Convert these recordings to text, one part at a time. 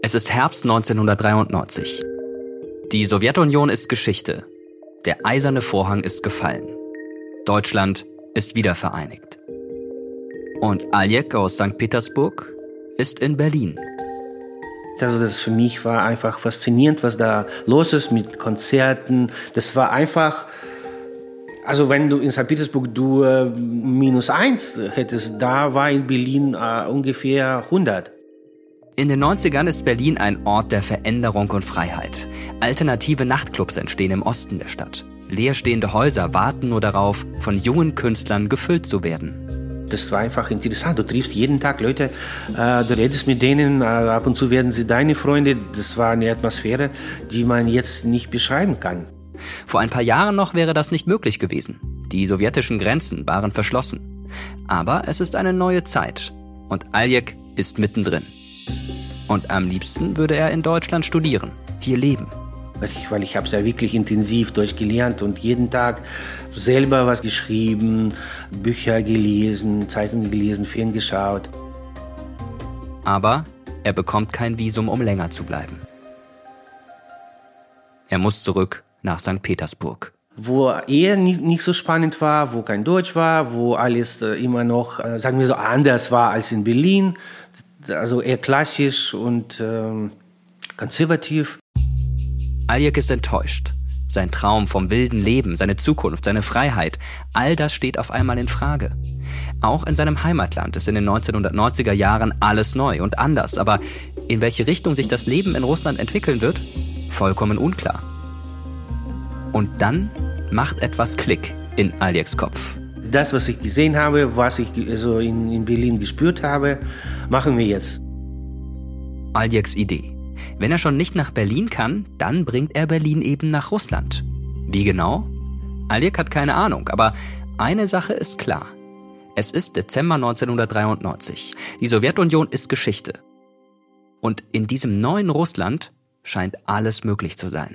Es ist Herbst 1993. Die Sowjetunion ist Geschichte. Der eiserne Vorhang ist gefallen. Deutschland ist wiedervereinigt. Und Aljek aus St. Petersburg ist in Berlin. Also das für mich war einfach faszinierend, was da los ist mit Konzerten. Das war einfach, also wenn du in St. Petersburg -1 hättest, da war in Berlin ungefähr 100. In den 90ern ist Berlin ein Ort der Veränderung und Freiheit. Alternative Nachtclubs entstehen im Osten der Stadt. Leerstehende Häuser warten nur darauf, von jungen Künstlern gefüllt zu werden. Das war einfach interessant. Du triffst jeden Tag Leute, du redest mit denen, ab und zu werden sie deine Freunde. Das war eine Atmosphäre, die man jetzt nicht beschreiben kann. Vor ein paar Jahren noch wäre das nicht möglich gewesen. Die sowjetischen Grenzen waren verschlossen. Aber es ist eine neue Zeit und Aljek ist mittendrin. Und am liebsten würde er in Deutschland studieren, hier leben. Weil ich habe es ja wirklich intensiv durchgelernt und jeden Tag selber was geschrieben, Bücher gelesen, Zeitungen gelesen, Film geschaut. Aber er bekommt kein Visum, um länger zu bleiben. Er muss zurück nach St. Petersburg. Wo eher nicht so spannend war, wo kein Deutsch war, wo alles immer noch, sagen wir so, anders war als in Berlin. Also eher klassisch und konservativ. Aljek ist enttäuscht. Sein Traum vom wilden Leben, seine Zukunft, seine Freiheit, all das steht auf einmal in Frage. Auch in seinem Heimatland ist in den 1990er Jahren alles neu und anders. Aber in welche Richtung sich das Leben in Russland entwickeln wird, vollkommen unklar. Und dann macht etwas Klick in Aljeks Kopf. Das, was ich gesehen habe, was ich so in Berlin gespürt habe, machen wir jetzt. Aljeks Idee. Wenn er schon nicht nach Berlin kann, dann bringt er Berlin eben nach Russland. Wie genau? Aljek hat keine Ahnung, aber eine Sache ist klar. Es ist Dezember 1993. Die Sowjetunion ist Geschichte. Und in diesem neuen Russland scheint alles möglich zu sein.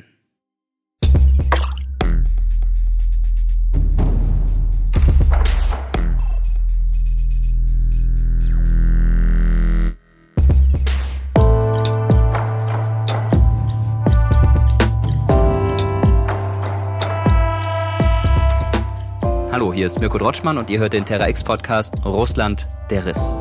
Hallo, hier ist Mirko Drotschmann und ihr hört den Terra X-Podcast Russland, der Riss.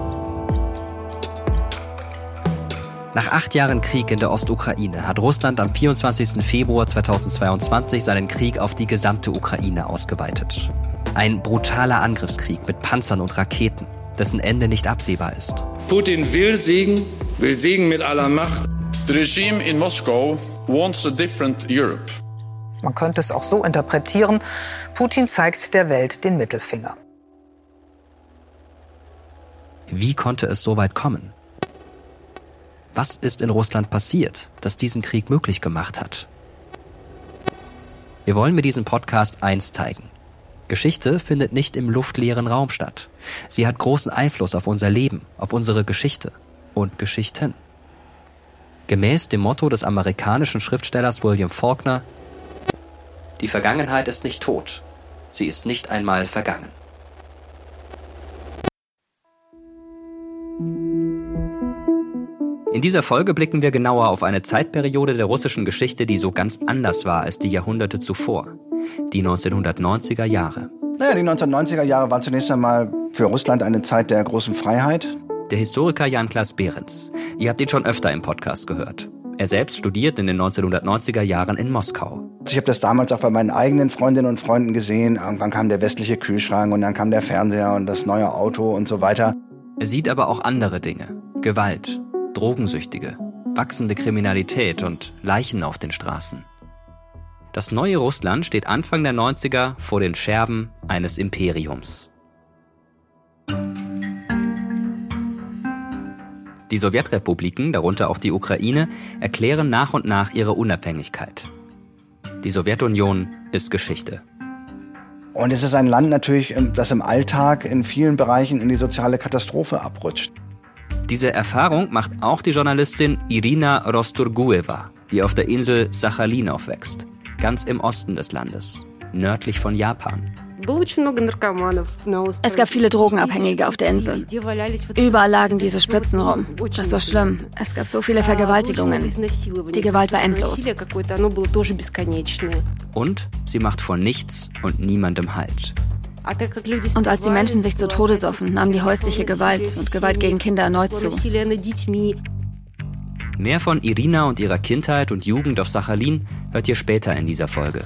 Nach 8 Jahren Krieg in der Ostukraine hat Russland am 24. Februar 2022 seinen Krieg auf die gesamte Ukraine ausgeweitet. Ein brutaler Angriffskrieg mit Panzern und Raketen, dessen Ende nicht absehbar ist. Putin will Segen mit aller Macht. The regime in Moscow wants a different Europe. Man könnte es auch so interpretieren, Putin zeigt der Welt den Mittelfinger. Wie konnte es so weit kommen? Was ist in Russland passiert, das diesen Krieg möglich gemacht hat? Wir wollen mit diesem Podcast eins zeigen. Geschichte findet nicht im luftleeren Raum statt. Sie hat großen Einfluss auf unser Leben, auf unsere Geschichte und Geschichten. Gemäß dem Motto des amerikanischen Schriftstellers William Faulkner: Die Vergangenheit ist nicht tot, sie ist nicht einmal vergangen. In dieser Folge blicken wir genauer auf eine Zeitperiode der russischen Geschichte, die so ganz anders war als die Jahrhunderte zuvor. Die 1990er Jahre. Die 1990er Jahre waren zunächst einmal für Russland eine Zeit der großen Freiheit. Der Historiker Jan-Klaas Behrens. Ihr habt ihn schon öfter im Podcast gehört. Er selbst studiert in den 1990er Jahren in Moskau. Ich habe das damals auch bei meinen eigenen Freundinnen und Freunden gesehen. Irgendwann kam der westliche Kühlschrank und dann kam der Fernseher und das neue Auto und so weiter. Er sieht aber auch andere Dinge. Gewalt, Drogensüchtige, wachsende Kriminalität und Leichen auf den Straßen. Das neue Russland steht Anfang der 90er vor den Scherben eines Imperiums. Die Sowjetrepubliken, darunter auch die Ukraine, erklären nach und nach ihre Unabhängigkeit. Die Sowjetunion ist Geschichte. Und es ist ein Land natürlich, das im Alltag in vielen Bereichen in die soziale Katastrophe abrutscht. Diese Erfahrung macht auch die Journalistin Irina Rosturgueva, die auf der Insel Sachalin aufwächst, ganz im Osten des Landes, nördlich von Japan. Es gab viele Drogenabhängige auf der Insel. Überall lagen diese Spritzen rum. Das war schlimm. Es gab so viele Vergewaltigungen. Die Gewalt war endlos. Und sie macht vor nichts und niemandem Halt. Und als die Menschen sich zu Tode soffen, nahm die häusliche Gewalt und Gewalt gegen Kinder erneut zu. Mehr von Irina und ihrer Kindheit und Jugend auf Sachalin hört ihr später in dieser Folge.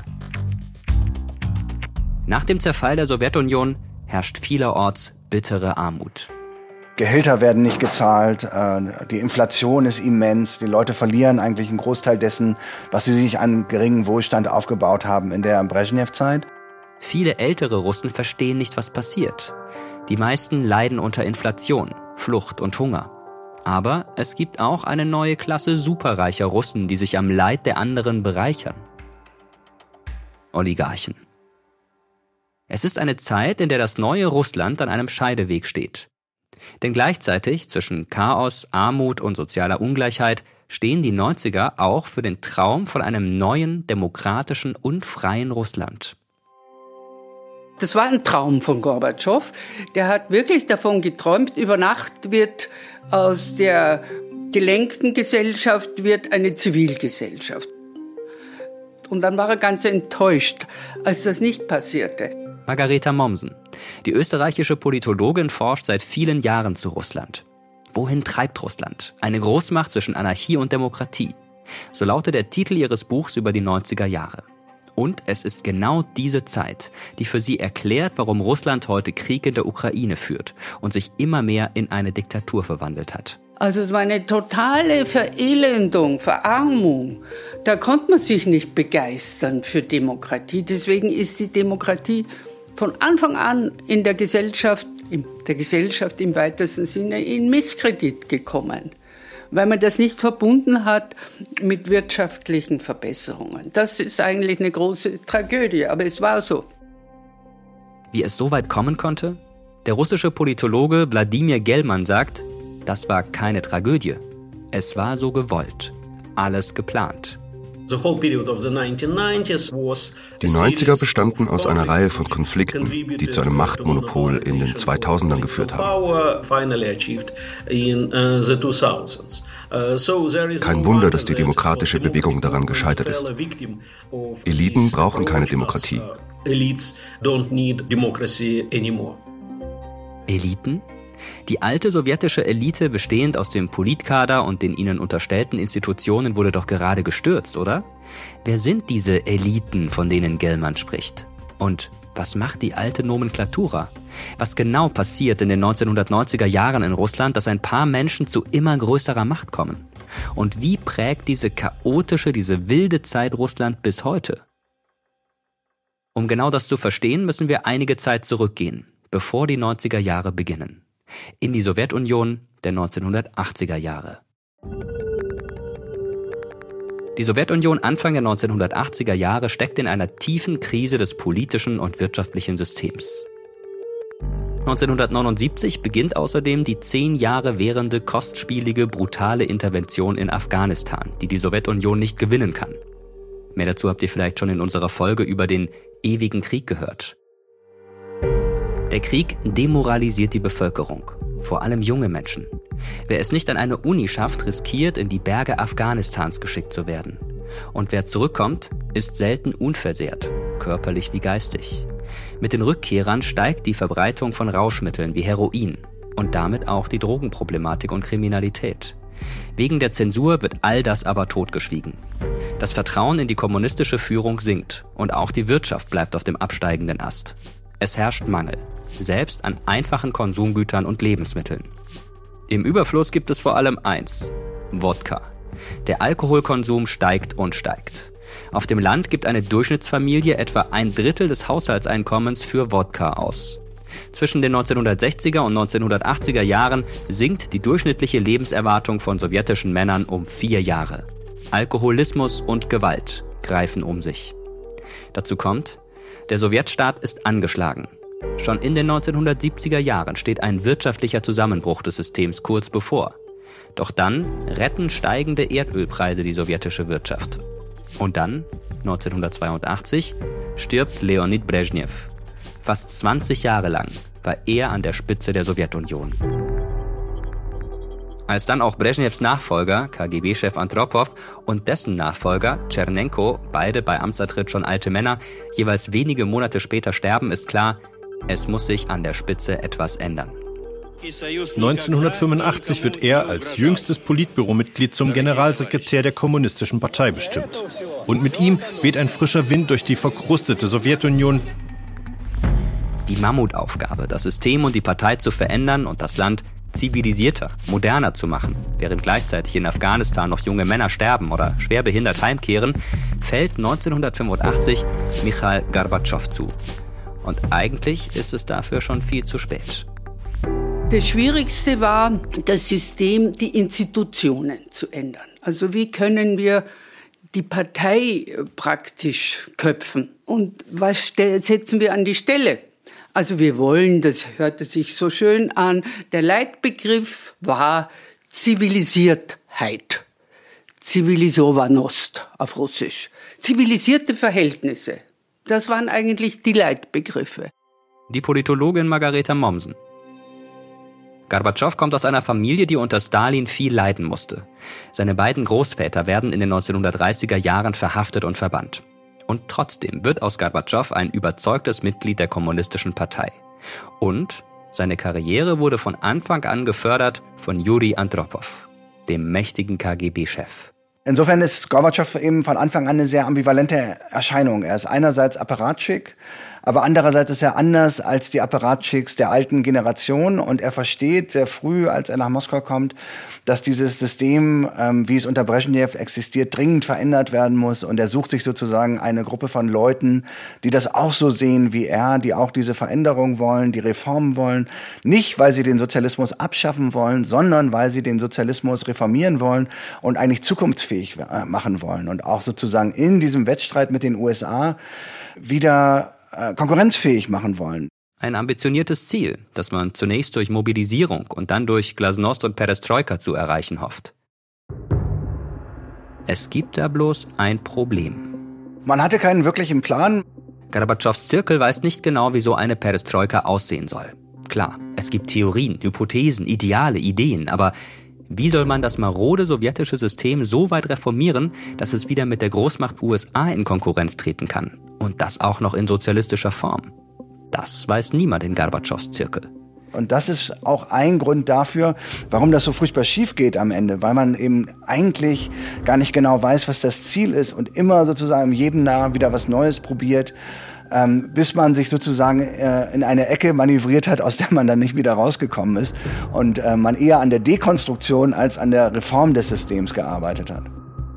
Nach dem Zerfall der Sowjetunion herrscht vielerorts bittere Armut. Gehälter werden nicht gezahlt, die Inflation ist immens, die Leute verlieren eigentlich einen Großteil dessen, was sie sich an geringem Wohlstand aufgebaut haben in der Brezhnev-Zeit. Viele ältere Russen verstehen nicht, was passiert. Die meisten leiden unter Inflation, Flucht und Hunger. Aber es gibt auch eine neue Klasse superreicher Russen, die sich am Leid der anderen bereichern. Oligarchen. Es ist eine Zeit, in der das neue Russland an einem Scheideweg steht. Denn gleichzeitig zwischen Chaos, Armut und sozialer Ungleichheit stehen die 90er auch für den Traum von einem neuen, demokratischen und freien Russland. Das war ein Traum von Gorbatschow. Der hat wirklich davon geträumt, über Nacht wird aus der gelenkten Gesellschaft wird eine Zivilgesellschaft. Und dann war er ganz enttäuscht, als das nicht passierte. Margareta Mommsen. Die österreichische Politologin forscht seit vielen Jahren zu Russland. Wohin treibt Russland? Eine Großmacht zwischen Anarchie und Demokratie. So lautet der Titel ihres Buchs über die 90er Jahre. Und es ist genau diese Zeit, die für sie erklärt, warum Russland heute Krieg in der Ukraine führt und sich immer mehr in eine Diktatur verwandelt hat. Also es war eine totale Verelendung, Verarmung. Da konnte man sich nicht begeistern für Demokratie. Deswegen ist die Demokratie von Anfang an in der Gesellschaft im weitesten Sinne in Misskredit gekommen, weil man das nicht verbunden hat mit wirtschaftlichen Verbesserungen. Das ist eigentlich eine große Tragödie, aber es war so. Wie es so weit kommen konnte? Der russische Politologe Wladimir Gelman sagt, das war keine Tragödie. Es war so gewollt. Alles geplant. Die 90er bestanden aus einer Reihe von Konflikten, die zu einem Machtmonopol in den 2000ern geführt haben. Kein Wunder, dass die demokratische Bewegung daran gescheitert ist. Eliten brauchen keine Demokratie. Eliten? Die alte sowjetische Elite, bestehend aus dem Politkader und den ihnen unterstellten Institutionen, wurde doch gerade gestürzt, oder? Wer sind diese Eliten, von denen Gelman spricht? Und was macht die alte Nomenklatura? Was genau passiert in den 1990er Jahren in Russland, dass ein paar Menschen zu immer größerer Macht kommen? Und wie prägt diese chaotische, diese wilde Zeit Russland bis heute? Um genau das zu verstehen, müssen wir einige Zeit zurückgehen, bevor die 90er Jahre beginnen. In die Sowjetunion der 1980er Jahre. Die Sowjetunion Anfang der 1980er Jahre steckt in einer tiefen Krise des politischen und wirtschaftlichen Systems. 1979 beginnt außerdem die 10 Jahre währende kostspielige, brutale Intervention in Afghanistan, die die Sowjetunion nicht gewinnen kann. Mehr dazu habt ihr vielleicht schon in unserer Folge über den ewigen Krieg gehört. Der Krieg demoralisiert die Bevölkerung, vor allem junge Menschen. Wer es nicht an eine Uni schafft, riskiert, in die Berge Afghanistans geschickt zu werden. Und wer zurückkommt, ist selten unversehrt, körperlich wie geistig. Mit den Rückkehrern steigt die Verbreitung von Rauschmitteln wie Heroin und damit auch die Drogenproblematik und Kriminalität. Wegen der Zensur wird all das aber totgeschwiegen. Das Vertrauen in die kommunistische Führung sinkt und auch die Wirtschaft bleibt auf dem absteigenden Ast. Es herrscht Mangel, selbst an einfachen Konsumgütern und Lebensmitteln. Im Überfluss gibt es vor allem eins: Wodka. Der Alkoholkonsum steigt und steigt. Auf dem Land gibt eine Durchschnittsfamilie etwa 1/3 des Haushaltseinkommens für Wodka aus. Zwischen den 1960er und 1980er Jahren sinkt die durchschnittliche Lebenserwartung von sowjetischen Männern um 4 Jahre. Alkoholismus und Gewalt greifen um sich. Dazu kommt, der Sowjetstaat ist angeschlagen. Schon in den 1970er Jahren steht ein wirtschaftlicher Zusammenbruch des Systems kurz bevor. Doch dann retten steigende Erdölpreise die sowjetische Wirtschaft. Und dann, 1982, stirbt Leonid Brezhnev. Fast 20 Jahre lang war er an der Spitze der Sowjetunion. Als dann auch Brezhnevs Nachfolger, KGB-Chef Andropow, und dessen Nachfolger, Tschernenko, beide bei Amtsantritt schon alte Männer, jeweils wenige Monate später sterben, ist klar, es muss sich an der Spitze etwas ändern. 1985 wird er als jüngstes Politbüromitglied zum Generalsekretär der Kommunistischen Partei bestimmt. Und mit ihm weht ein frischer Wind durch die verkrustete Sowjetunion. Die Mammutaufgabe, das System und die Partei zu verändern und das Land zivilisierter, moderner zu machen, während gleichzeitig in Afghanistan noch junge Männer sterben oder schwer behindert heimkehren, fällt 1985 Michail Gorbatschow zu. Und eigentlich ist es dafür schon viel zu spät. Das Schwierigste war, das System, die Institutionen zu ändern. Also wie können wir die Partei praktisch köpfen? Und was setzen wir an die Stelle? Also wir wollen, das hörte sich so schön an, der Leitbegriff war Zivilisiertheit. Zivilisovannost auf Russisch. Zivilisierte Verhältnisse. Das waren eigentlich die Leitbegriffe. Die Politologin Margareta Mommsen. Gorbatschow kommt aus einer Familie, die unter Stalin viel leiden musste. Seine beiden Großväter werden in den 1930er Jahren verhaftet und verbannt. Und trotzdem wird aus Gorbatschow ein überzeugtes Mitglied der Kommunistischen Partei. Und seine Karriere wurde von Anfang an gefördert von Juri Andropow, dem mächtigen KGB-Chef. Insofern ist Gorbatschow eben von Anfang an eine sehr ambivalente Erscheinung. Er ist einerseits Apparatschick, aber andererseits ist er anders als die Apparatschicks der alten Generation und er versteht sehr früh, als er nach Moskau kommt, dass dieses System, wie es unter Brezhnev existiert, dringend verändert werden muss und er sucht sich sozusagen eine Gruppe von Leuten, die das auch so sehen wie er, die auch diese Veränderung wollen, die Reformen wollen, nicht weil sie den Sozialismus abschaffen wollen, sondern weil sie den Sozialismus reformieren wollen und eigentlich zukunftsfähig machen wollen und auch sozusagen in diesem Wettstreit mit den USA wieder konkurrenzfähig machen wollen. Ein ambitioniertes Ziel, das man zunächst durch Mobilisierung und dann durch Glasnost und Perestroika zu erreichen hofft. Es gibt da bloß ein Problem. Man hatte keinen wirklichen Plan. Gorbatschows Zirkel weiß nicht genau, wie so eine Perestroika aussehen soll. Klar, es gibt Theorien, Hypothesen, Ideale, Ideen, aber wie soll man das marode sowjetische System so weit reformieren, dass es wieder mit der Großmacht USA in Konkurrenz treten kann? Und das auch noch in sozialistischer Form. Das weiß niemand in Gorbatschows Zirkel. Und das ist auch ein Grund dafür, warum das so furchtbar schief geht am Ende, weil man eben eigentlich gar nicht genau weiß, was das Ziel ist und immer sozusagen jedem Jahr wieder was Neues probiert, bis man sich sozusagen in eine Ecke manövriert hat, aus der man dann nicht wieder rausgekommen ist und man eher an der Dekonstruktion als an der Reform des Systems gearbeitet hat.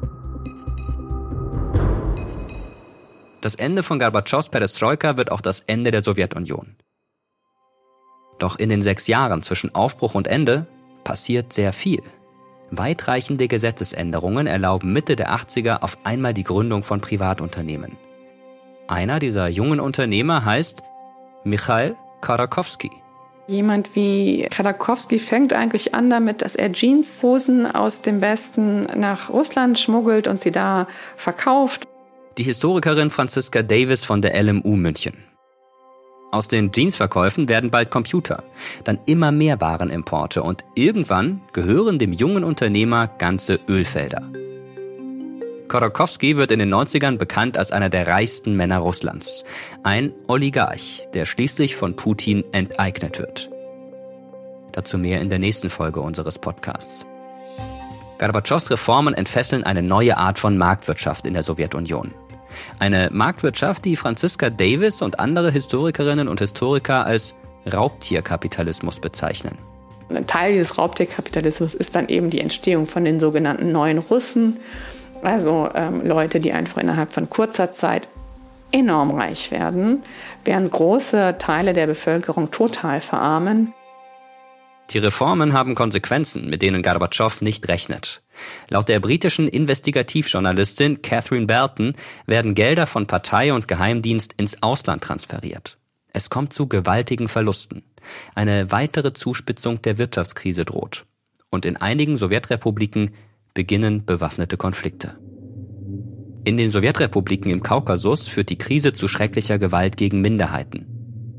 Das Ende von Gorbatschows Perestroika wird auch das Ende der Sowjetunion. Doch in den 6 Jahren zwischen Aufbruch und Ende passiert sehr viel. Weitreichende Gesetzesänderungen erlauben Mitte der 80er auf einmal die Gründung von Privatunternehmen. Einer dieser jungen Unternehmer heißt Michail Khodorkovsky. Jemand wie Khodorkovsky fängt eigentlich an damit, dass er Jeanshosen aus dem Westen nach Russland schmuggelt und sie da verkauft. Die Historikerin Franziska Davis von der LMU München. Aus den Jeansverkäufen werden bald Computer, dann immer mehr Warenimporte und irgendwann gehören dem jungen Unternehmer ganze Ölfelder. Khodorkovsky wird in den 90ern bekannt als einer der reichsten Männer Russlands. Ein Oligarch, der schließlich von Putin enteignet wird. Dazu mehr in der nächsten Folge unseres Podcasts. Gorbatschows Reformen entfesseln eine neue Art von Marktwirtschaft in der Sowjetunion. Eine Marktwirtschaft, die Franziska Davis und andere Historikerinnen und Historiker als Raubtierkapitalismus bezeichnen. Ein Teil dieses Raubtierkapitalismus ist dann eben die Entstehung von den sogenannten neuen Russen. Also Leute, die einfach innerhalb von kurzer Zeit enorm reich werden, während große Teile der Bevölkerung total verarmen. Die Reformen haben Konsequenzen, mit denen Gorbatschow nicht rechnet. Laut der britischen Investigativjournalistin Catherine Belton werden Gelder von Partei und Geheimdienst ins Ausland transferiert. Es kommt zu gewaltigen Verlusten. Eine weitere Zuspitzung der Wirtschaftskrise droht. Und in einigen Sowjetrepubliken beginnen bewaffnete Konflikte. In den Sowjetrepubliken im Kaukasus führt die Krise zu schrecklicher Gewalt gegen Minderheiten.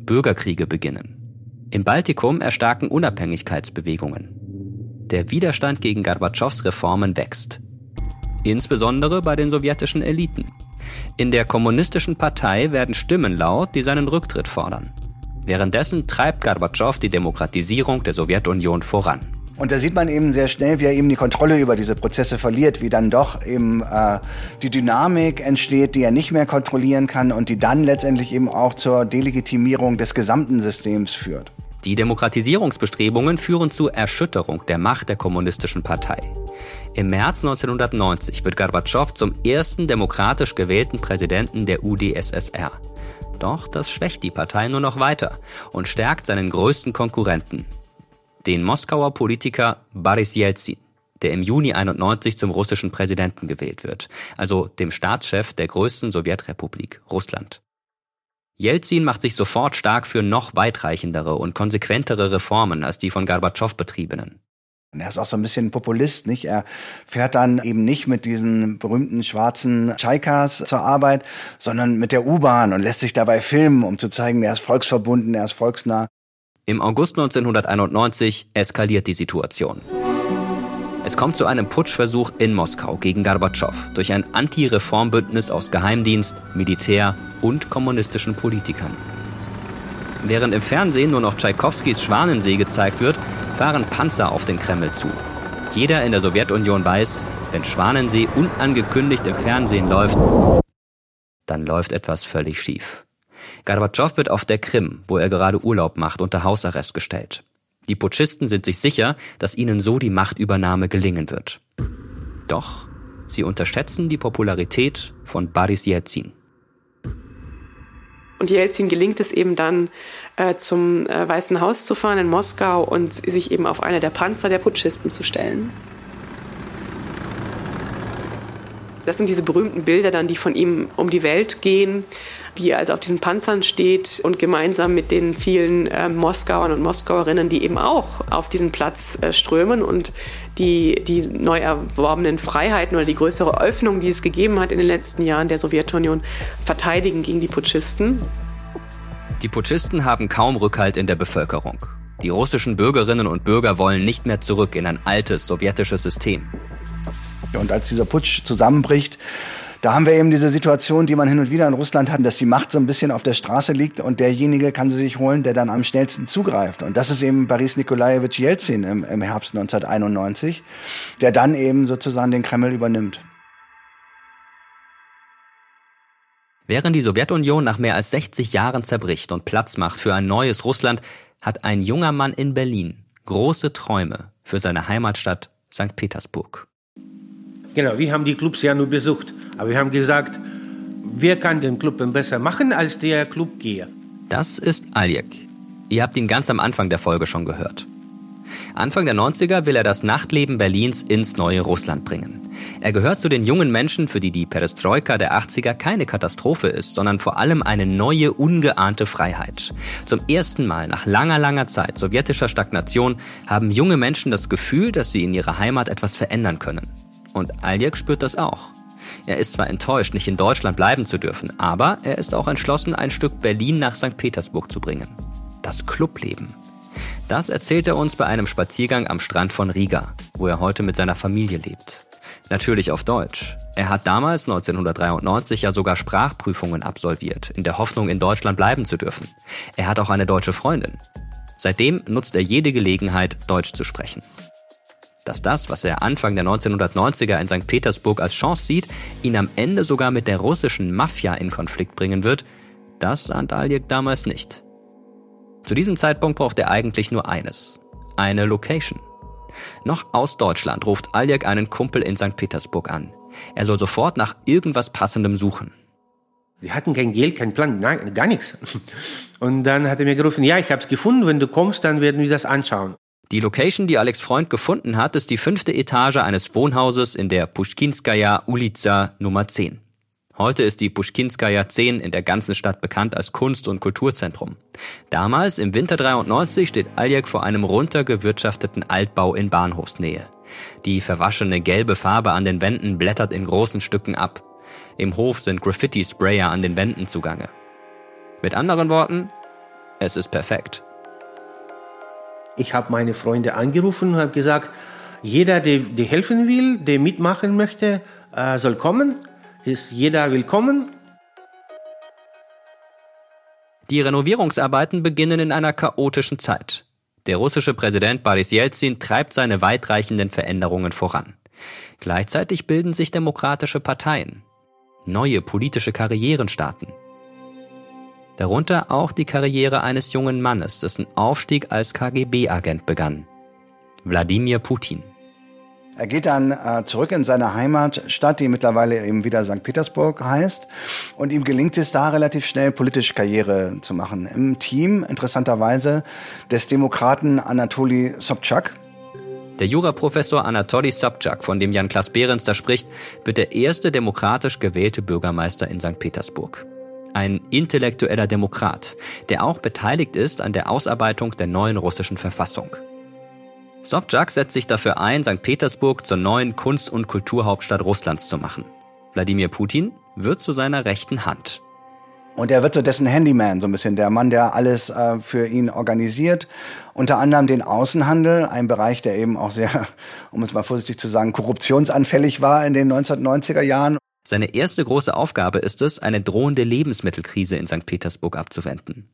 Bürgerkriege beginnen. Im Baltikum erstarken Unabhängigkeitsbewegungen. Der Widerstand gegen Gorbatschows Reformen wächst. Insbesondere bei den sowjetischen Eliten. In der kommunistischen Partei werden Stimmen laut, die seinen Rücktritt fordern. Währenddessen treibt Gorbatschow die Demokratisierung der Sowjetunion voran. Und da sieht man eben sehr schnell, wie er eben die Kontrolle über diese Prozesse verliert, wie dann doch eben die Dynamik entsteht, die er nicht mehr kontrollieren kann und die dann letztendlich eben auch zur Delegitimierung des gesamten Systems führt. Die Demokratisierungsbestrebungen führen zur Erschütterung der Macht der kommunistischen Partei. Im März 1990 wird Gorbatschow zum ersten demokratisch gewählten Präsidenten der UdSSR. Doch das schwächt die Partei nur noch weiter und stärkt seinen größten Konkurrenten, den Moskauer Politiker Boris Jelzin, der im Juni 1991 zum russischen Präsidenten gewählt wird, also dem Staatschef der größten Sowjetrepublik, Russland. Jelzin macht sich sofort stark für noch weitreichendere und konsequentere Reformen als die von Gorbatschow betriebenen. Er ist auch so ein bisschen Populist, nicht? Er fährt dann eben nicht mit diesen berühmten schwarzen Tschaikas zur Arbeit, sondern mit der U-Bahn und lässt sich dabei filmen, um zu zeigen, er ist volksverbunden, er ist volksnah. Im August 1991 eskaliert die Situation. Es kommt zu einem Putschversuch in Moskau gegen Gorbatschow durch ein Anti-Reformbündnis aus Geheimdienst, Militär und kommunistischen Politikern. Während im Fernsehen nur noch Tschaikowskis Schwanensee gezeigt wird, fahren Panzer auf den Kreml zu. Jeder in der Sowjetunion weiß, wenn Schwanensee unangekündigt im Fernsehen läuft, dann läuft etwas völlig schief. Gorbatschow wird auf der Krim, wo er gerade Urlaub macht, unter Hausarrest gestellt. Die Putschisten sind sich sicher, dass ihnen so die Machtübernahme gelingen wird. Doch sie unterschätzen die Popularität von Boris Jelzin. Und Jelzin gelingt es eben dann, zum Weißen Haus zu fahren in Moskau und sich eben auf einer der Panzer der Putschisten zu stellen. Das sind diese berühmten Bilder dann, die von ihm um die Welt gehen, wie er also auf diesen Panzern steht und gemeinsam mit den vielen Moskauern und Moskauerinnen, die eben auch auf diesen Platz strömen und die neu erworbenen Freiheiten oder die größere Öffnung, die es gegeben hat in den letzten Jahren der Sowjetunion, verteidigen gegen die Putschisten. Die Putschisten haben kaum Rückhalt in der Bevölkerung. Die russischen Bürgerinnen und Bürger wollen nicht mehr zurück in ein altes sowjetisches System. Und als dieser Putsch zusammenbricht, da haben wir eben diese Situation, die man hin und wieder in Russland hat, dass die Macht so ein bisschen auf der Straße liegt und derjenige kann sie sich holen, der dann am schnellsten zugreift. Und das ist eben Boris Nikolajewitsch Jelzin im Herbst 1991, der dann eben sozusagen den Kreml übernimmt. Während die Sowjetunion nach mehr als 60 Jahren zerbricht und Platz macht für ein neues Russland, hat ein junger Mann in Berlin große Träume für seine Heimatstadt St. Petersburg. Genau, wir haben die Clubs ja nur besucht. Aber wir haben gesagt, wer kann den Club besser machen als der Clubgeher? Das ist Aljek. Ihr habt ihn ganz am Anfang der Folge schon gehört. Anfang der 90er will er das Nachtleben Berlins ins neue Russland bringen. Er gehört zu den jungen Menschen, für die die Perestroika der 80er keine Katastrophe ist, sondern vor allem eine neue, ungeahnte Freiheit. Zum ersten Mal nach langer, langer Zeit sowjetischer Stagnation haben junge Menschen das Gefühl, dass sie in ihrer Heimat etwas verändern können. Und Aljek spürt das auch. Er ist zwar enttäuscht, nicht in Deutschland bleiben zu dürfen, aber er ist auch entschlossen, ein Stück Berlin nach St. Petersburg zu bringen. Das Clubleben. Das erzählt er uns bei einem Spaziergang am Strand von Riga, wo er heute mit seiner Familie lebt. Natürlich auf Deutsch. Er hat damals, 1993, ja sogar Sprachprüfungen absolviert, in der Hoffnung, in Deutschland bleiben zu dürfen. Er hat auch eine deutsche Freundin. Seitdem nutzt er jede Gelegenheit, Deutsch zu sprechen. Dass das, was er Anfang der 1990er in St. Petersburg als Chance sieht, ihn am Ende sogar mit der russischen Mafia in Konflikt bringen wird, das ahnt Aljek damals nicht. Zu diesem Zeitpunkt braucht er eigentlich nur eines: eine Location. Noch aus Deutschland ruft Aljek einen Kumpel in St. Petersburg an. Er soll sofort nach irgendwas Passendem suchen. Wir hatten kein Geld, keinen Plan, nein, gar nichts. Und dann hat er mir gerufen, ja, ich habe es gefunden, wenn du kommst, dann werden wir das anschauen. Die Location, die Alex Freund gefunden hat, ist die 5. Etage eines Wohnhauses in der Puschkinskaja Ulica Nummer 10. Heute ist die Puschkinskaja 10 in der ganzen Stadt bekannt als Kunst- und Kulturzentrum. Damals, im Winter 93, steht Aljek vor einem runtergewirtschafteten Altbau in Bahnhofsnähe. Die verwaschene gelbe Farbe an den Wänden blättert in großen Stücken ab. Im Hof sind Graffiti-Sprayer an den Wänden zugange. Mit anderen Worten, Es ist perfekt. Ich habe meine Freunde angerufen und habe gesagt, jeder, der helfen will, der mitmachen möchte, soll kommen. Ist jeder willkommen. Die Renovierungsarbeiten beginnen in einer chaotischen Zeit. Der russische Präsident Boris Jelzin treibt seine weitreichenden Veränderungen voran. Gleichzeitig bilden sich demokratische Parteien. Neue politische Karrieren starten. Darunter auch die Karriere eines jungen Mannes, dessen Aufstieg als KGB-Agent begann. Wladimir Putin. Er geht dann zurück in seine Heimatstadt, die mittlerweile eben wieder St. Petersburg heißt. Und ihm gelingt es da relativ schnell, politisch Karriere zu machen. Im Team, interessanterweise, des Demokraten Anatoli Sobchak. Der Juraprofessor Anatoli Sobchak, von dem Jan-Klaas Behrens da spricht, wird der erste demokratisch gewählte Bürgermeister in St. Petersburg. Ein intellektueller Demokrat, der auch beteiligt ist an der Ausarbeitung der neuen russischen Verfassung. Sobchak setzt sich dafür ein, St. Petersburg zur neuen Kunst- und Kulturhauptstadt Russlands zu machen. Wladimir Putin wird zu seiner rechten Hand. Und er wird so dessen Handyman, so ein bisschen der Mann, der alles für ihn organisiert. Unter anderem den Außenhandel, ein Bereich, der eben auch sehr, um es mal vorsichtig zu sagen, korruptionsanfällig war in den 1990er Jahren. Seine erste große Aufgabe ist es, eine drohende Lebensmittelkrise in St. Petersburg abzuwenden.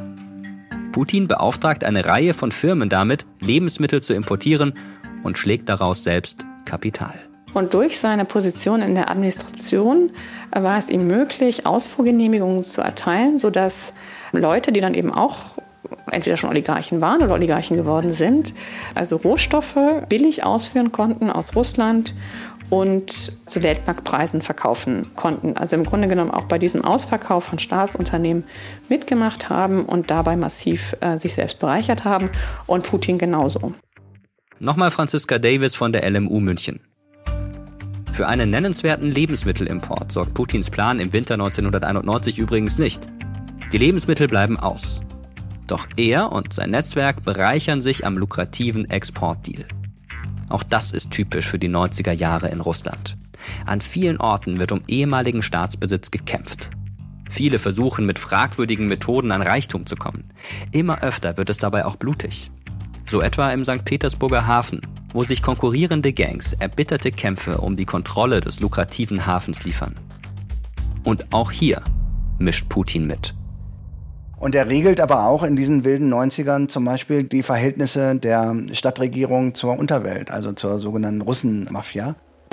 Putin beauftragt eine Reihe von Firmen damit, Lebensmittel zu importieren und schlägt daraus selbst Kapital. Und durch seine Position in der Administration war es ihm möglich, Ausfuhrgenehmigungen zu erteilen, sodass Leute, die dann eben auch entweder schon Oligarchen waren oder Oligarchen geworden sind, also Rohstoffe billig ausführen konnten aus Russland und zu Weltmarktpreisen verkaufen konnten. Also im Grunde genommen auch bei diesem Ausverkauf von Staatsunternehmen mitgemacht haben und dabei massiv sich selbst bereichert haben und Putin genauso. Nochmal Franziska Davis von der LMU München. Für einen nennenswerten Lebensmittelimport sorgt Putins Plan im Winter 1991 übrigens nicht. Die Lebensmittel bleiben aus. Doch er und sein Netzwerk bereichern sich am lukrativen Exportdeal. Auch das ist typisch für die 90er Jahre in Russland. An vielen Orten wird um ehemaligen Staatsbesitz gekämpft. Viele versuchen mit fragwürdigen Methoden an Reichtum zu kommen. Immer öfter wird es dabei auch blutig. So etwa im St. Petersburger Hafen, wo sich konkurrierende Gangs erbitterte Kämpfe um die Kontrolle des lukrativen Hafens liefern. Und auch hier mischt Putin mit. Und er regelt aber auch in diesen wilden 90ern zum Beispiel die Verhältnisse der Stadtregierung zur Unterwelt, also zur sogenannten Russenmafia.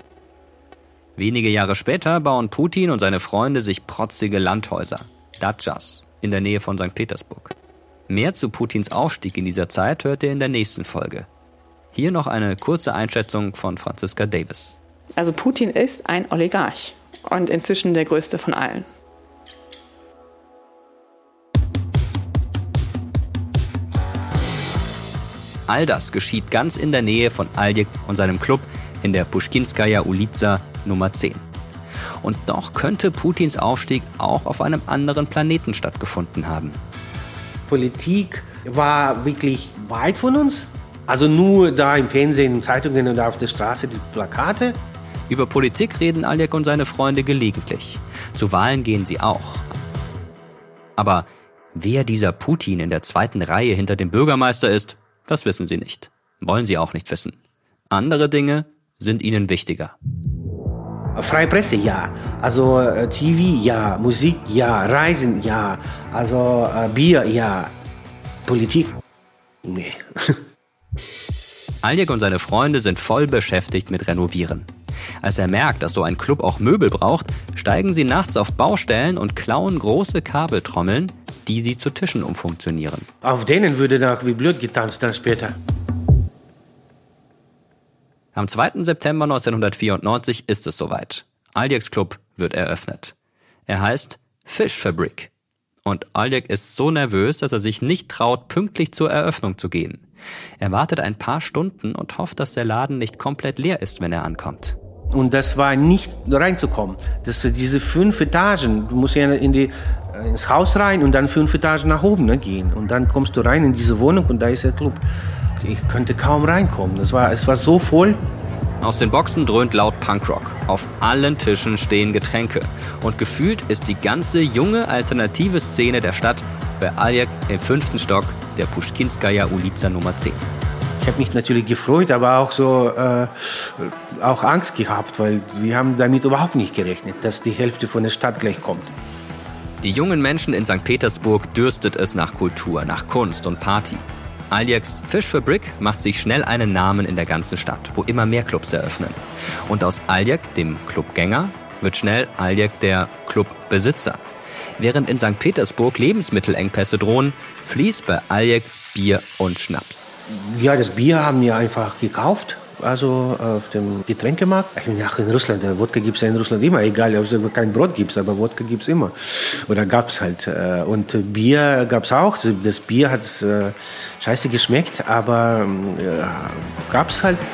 Wenige Jahre später bauen Putin und seine Freunde sich protzige Landhäuser, Datschas, in der Nähe von St. Petersburg. Mehr zu Putins Aufstieg in dieser Zeit hört ihr in der nächsten Folge. Hier noch eine kurze Einschätzung von Franziska Davis. Also Putin ist ein Oligarch und inzwischen der größte von allen. All das geschieht ganz in der Nähe von Aljek und seinem Club in der Puschkinskaja Ulica Nummer 10. Und doch könnte Putins Aufstieg auch auf einem anderen Planeten stattgefunden haben. Politik war wirklich weit von uns. Also nur da im Fernsehen, in Zeitungen und auf der Straße die Plakate. Über Politik reden Aljek und seine Freunde gelegentlich. Zu Wahlen gehen sie auch. Aber wer dieser Putin in der zweiten Reihe hinter dem Bürgermeister ist, das wissen sie nicht. Wollen sie auch nicht wissen. Andere Dinge sind ihnen wichtiger. Freie Presse, ja. Also TV, ja. Musik, ja. Reisen, ja. Also Bier, ja. Politik, nee. Aljek und seine Freunde sind voll beschäftigt mit Renovieren. Als er merkt, dass so ein Club auch Möbel braucht, steigen sie nachts auf Baustellen und klauen große Kabeltrommeln, die sie zu Tischen umfunktionieren. Auf denen würde dann wie blöd getanzt dann später. Am 2. September 1994 ist es soweit. Aljeks Club wird eröffnet. Er heißt Fischfabrik. Und Aljek ist so nervös, dass er sich nicht traut, pünktlich zur Eröffnung zu gehen. Er wartet ein paar Stunden und hofft, dass der Laden nicht komplett leer ist, wenn er ankommt. Und das war nicht reinzukommen. Das waren diese 5 Etagen. Du musst ja ins Haus rein und dann 5 Etagen nach oben gehen. Und dann kommst du rein in diese Wohnung und da ist der Club. Ich könnte kaum reinkommen. Es war so voll. Aus den Boxen dröhnt laut Punkrock. Auf allen Tischen stehen Getränke. Und gefühlt ist die ganze junge, alternative Szene der Stadt bei Aljek im 5. Stock der Puschkinskaja Ulica Nummer 10. Ich habe mich natürlich gefreut, aber auch auch Angst gehabt, weil wir haben damit überhaupt nicht gerechnet, dass die Hälfte von der Stadt gleich kommt. Die jungen Menschen in St. Petersburg dürstet es nach Kultur, nach Kunst und Party. Aljeks Fish for Brick macht sich schnell einen Namen in der ganzen Stadt, wo immer mehr Clubs eröffnen. Und aus Aljek, dem Clubgänger, wird schnell Aljek der Clubbesitzer. Während in St. Petersburg Lebensmittelengpässe drohen, fließt bei Aljek Bier und Schnaps. Ja, das Bier haben wir einfach gekauft, also auf dem Getränkemarkt. In Russland, Wodka gibt es ja in Russland immer, egal ob es kein Brot gibt, aber Wodka gibt es immer. Oder gab es halt. Und Bier gab es auch. Das Bier hat scheiße geschmeckt, aber gab es halt.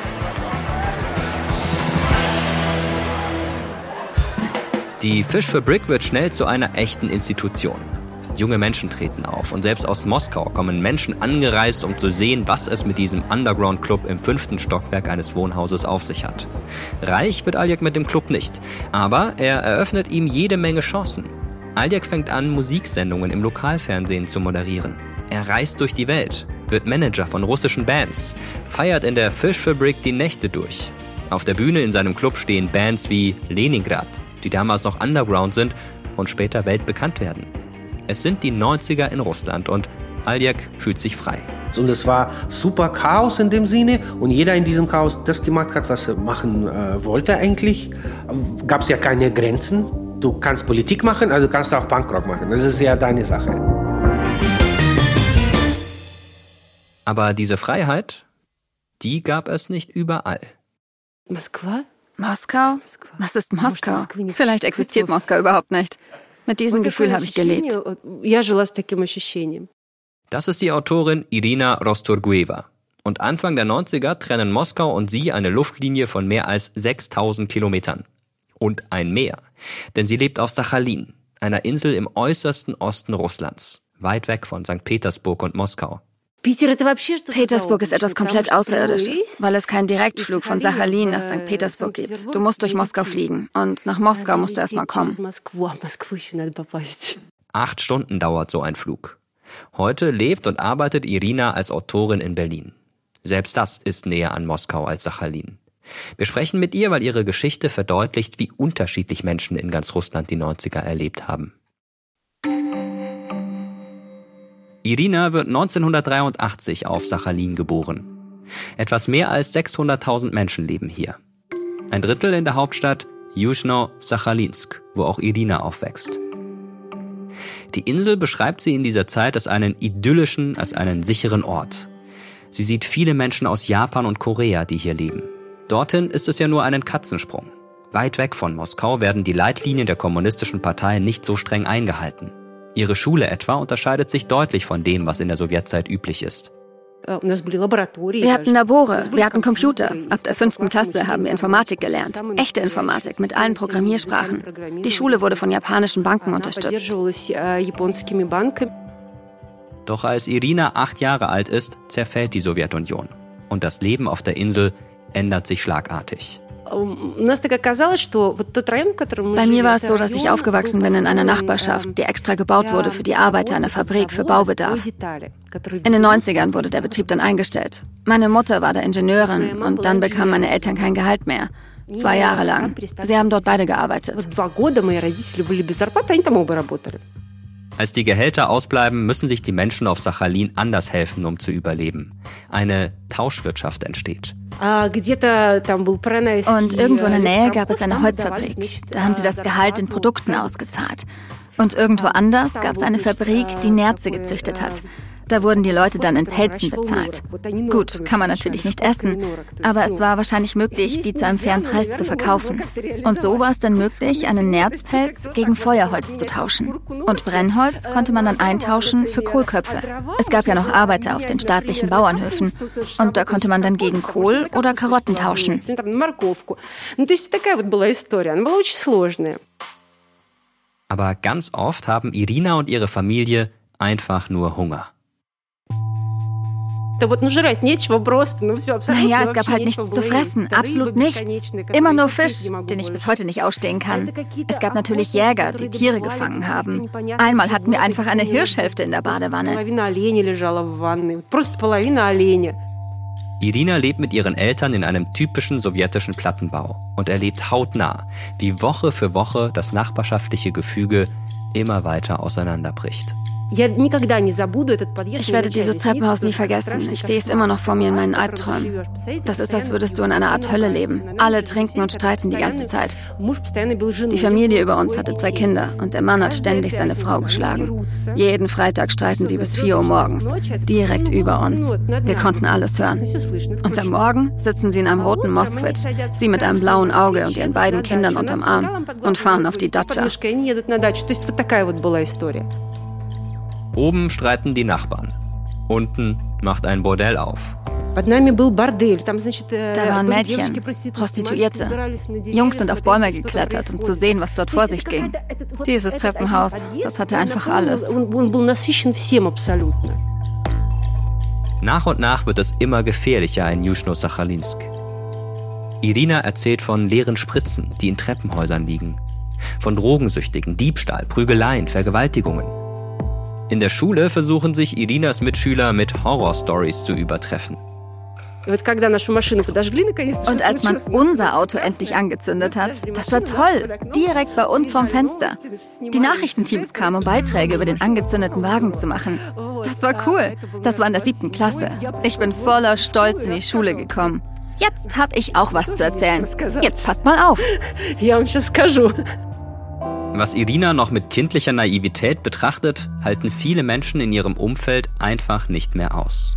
Die Fish for Brick wird schnell zu einer echten Institution. Junge Menschen treten auf und selbst aus Moskau kommen Menschen angereist, um zu sehen, was es mit diesem Underground-Club im 5. Stockwerk eines Wohnhauses auf sich hat. Reich wird Aljek mit dem Club nicht, aber er eröffnet ihm jede Menge Chancen. Aljek fängt an, Musiksendungen im Lokalfernsehen zu moderieren. Er reist durch die Welt, wird Manager von russischen Bands, feiert in der Fish for Brick die Nächte durch. Auf der Bühne in seinem Club stehen Bands wie Leningrad, die damals noch Underground sind und später weltbekannt werden. Es sind die 90er in Russland und Aljek fühlt sich frei. Und es war super Chaos in dem Sinne und jeder in diesem Chaos das gemacht hat, was er machen wollte eigentlich. Gab es ja keine Grenzen. Du kannst Politik machen, also kannst du auch Punkrock machen. Das ist ja deine Sache. Aber diese Freiheit, die gab es nicht überall. Moskau? Was ist Moskau? Vielleicht existiert Moskau überhaupt nicht. Mit diesem Gefühl habe ich gelebt. Das ist die Autorin Irina Rostorgueva. Und Anfang der 90er trennen Moskau und sie eine Luftlinie von mehr als 6000 Kilometern. Und ein Meer. Denn sie lebt auf Sachalin, einer Insel im äußersten Osten Russlands, weit weg von St. Petersburg und Moskau. Petersburg ist etwas komplett Außerirdisches, weil es keinen Direktflug von Sachalin nach St. Petersburg gibt. Du musst durch Moskau fliegen und nach Moskau musst du erstmal kommen. 8 Stunden dauert so ein Flug. Heute lebt und arbeitet Irina als Autorin in Berlin. Selbst das ist näher an Moskau als Sachalin. Wir sprechen mit ihr, weil ihre Geschichte verdeutlicht, wie unterschiedlich Menschen in ganz Russland die 90er erlebt haben. Irina wird 1983 auf Sachalin geboren. Etwas mehr als 600.000 Menschen leben hier. Ein Drittel in der Hauptstadt Juschno-Sachalinsk, wo auch Irina aufwächst. Die Insel beschreibt sie in dieser Zeit als einen idyllischen, als einen sicheren Ort. Sie sieht viele Menschen aus Japan und Korea, die hier leben. Dorthin ist es ja nur einen Katzensprung. Weit weg von Moskau werden die Leitlinien der kommunistischen Partei nicht so streng eingehalten. Ihre Schule etwa unterscheidet sich deutlich von dem, was in der Sowjetzeit üblich ist. Wir hatten Labore, wir hatten Computer. Ab der 5. Klasse haben wir Informatik gelernt. Echte Informatik mit allen Programmiersprachen. Die Schule wurde von japanischen Banken unterstützt. Doch als Irina 8 Jahre alt ist, zerfällt die Sowjetunion. Und das Leben auf der Insel ändert sich schlagartig. Bei mir war es so, dass ich aufgewachsen bin in einer Nachbarschaft, die extra gebaut wurde für die Arbeiter einer Fabrik für Baubedarf. In den 90ern wurde der Betrieb dann eingestellt. Meine Mutter war da Ingenieurin und dann bekamen meine Eltern kein Gehalt mehr. 2 Jahre lang. Sie haben dort beide gearbeitet. Als die Gehälter ausbleiben, müssen sich die Menschen auf Sachalin anders helfen, um zu überleben. Eine Tauschwirtschaft entsteht. Und irgendwo in der Nähe gab es eine Holzfabrik. Da haben sie das Gehalt in Produkten ausgezahlt. Und irgendwo anders gab es eine Fabrik, die Nerze gezüchtet hat. Da wurden die Leute dann in Pelzen bezahlt. Gut, kann man natürlich nicht essen, aber es war wahrscheinlich möglich, die zu einem fairen Preis zu verkaufen. Und so war es dann möglich, einen Nerzpelz gegen Feuerholz zu tauschen. Und Brennholz konnte man dann eintauschen für Kohlköpfe. Es gab ja noch Arbeiter auf den staatlichen Bauernhöfen und da konnte man dann gegen Kohl oder Karotten tauschen. Aber ganz oft haben Irina und ihre Familie einfach nur Hunger. Naja, es gab halt nichts zu fressen, absolut nichts. Immer nur Fisch, den ich bis heute nicht ausstehen kann. Es gab natürlich Jäger, die Tiere gefangen haben. Einmal hatten wir einfach eine Hirschhälfte in der Badewanne. Irina lebt mit ihren Eltern in einem typischen sowjetischen Plattenbau und erlebt hautnah, wie Woche für Woche das nachbarschaftliche Gefüge immer weiter auseinanderbricht. Ich werde dieses Treppenhaus nie vergessen. Ich sehe es immer noch vor mir in meinen Albträumen. Das ist, als würdest du in einer Art Hölle leben. Alle trinken und streiten die ganze Zeit. Die Familie über uns hatte 2 Kinder und der Mann hat ständig seine Frau geschlagen. Jeden Freitag streiten sie bis 4 Uhr morgens, direkt über uns. Wir konnten alles hören. Und am Morgen sitzen sie in einem roten Moskwitsch, sie mit einem blauen Auge und ihren beiden Kindern unterm Arm und fahren auf die Datscha. Oben streiten die Nachbarn. Unten macht ein Bordell auf. Da waren Mädchen, Prostituierte. Jungs sind auf Bäume geklettert, um zu sehen, was dort vor sich ging. Dieses Treppenhaus, das hatte einfach alles. Nach und nach wird es immer gefährlicher in Juschno-Sachalinsk. Irina erzählt von leeren Spritzen, die in Treppenhäusern liegen. Von Drogensüchtigen, Diebstahl, Prügeleien, Vergewaltigungen. In der Schule versuchen sich Irinas Mitschüler mit Horrorstories zu übertreffen. Und als man unser Auto endlich angezündet hat, das war toll, direkt bei uns vorm Fenster. Die Nachrichtenteams kamen, um Beiträge über den angezündeten Wagen zu machen. Das war cool. Das war in der 7. Klasse. Ich bin voller Stolz in die Schule gekommen. Jetzt habe ich auch was zu erzählen. Jetzt passt mal auf. Was Irina noch mit kindlicher Naivität betrachtet, halten viele Menschen in ihrem Umfeld einfach nicht mehr aus.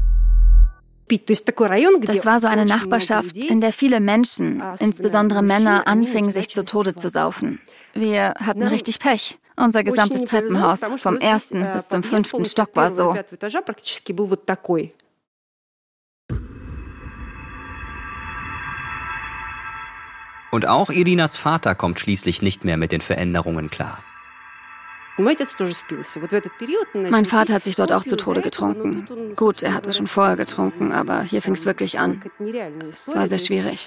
Das war so eine Nachbarschaft, in der viele Menschen, insbesondere Männer, anfingen, sich zu Tode zu saufen. Wir hatten richtig Pech. Unser gesamtes Treppenhaus, vom 1. bis zum 5. Stock war so. Und auch Irinas Vater kommt schließlich nicht mehr mit den Veränderungen klar. Mein Vater hat sich dort auch zu Tode getrunken. Gut, er hatte schon vorher getrunken, aber hier fing es wirklich an. Es war sehr schwierig.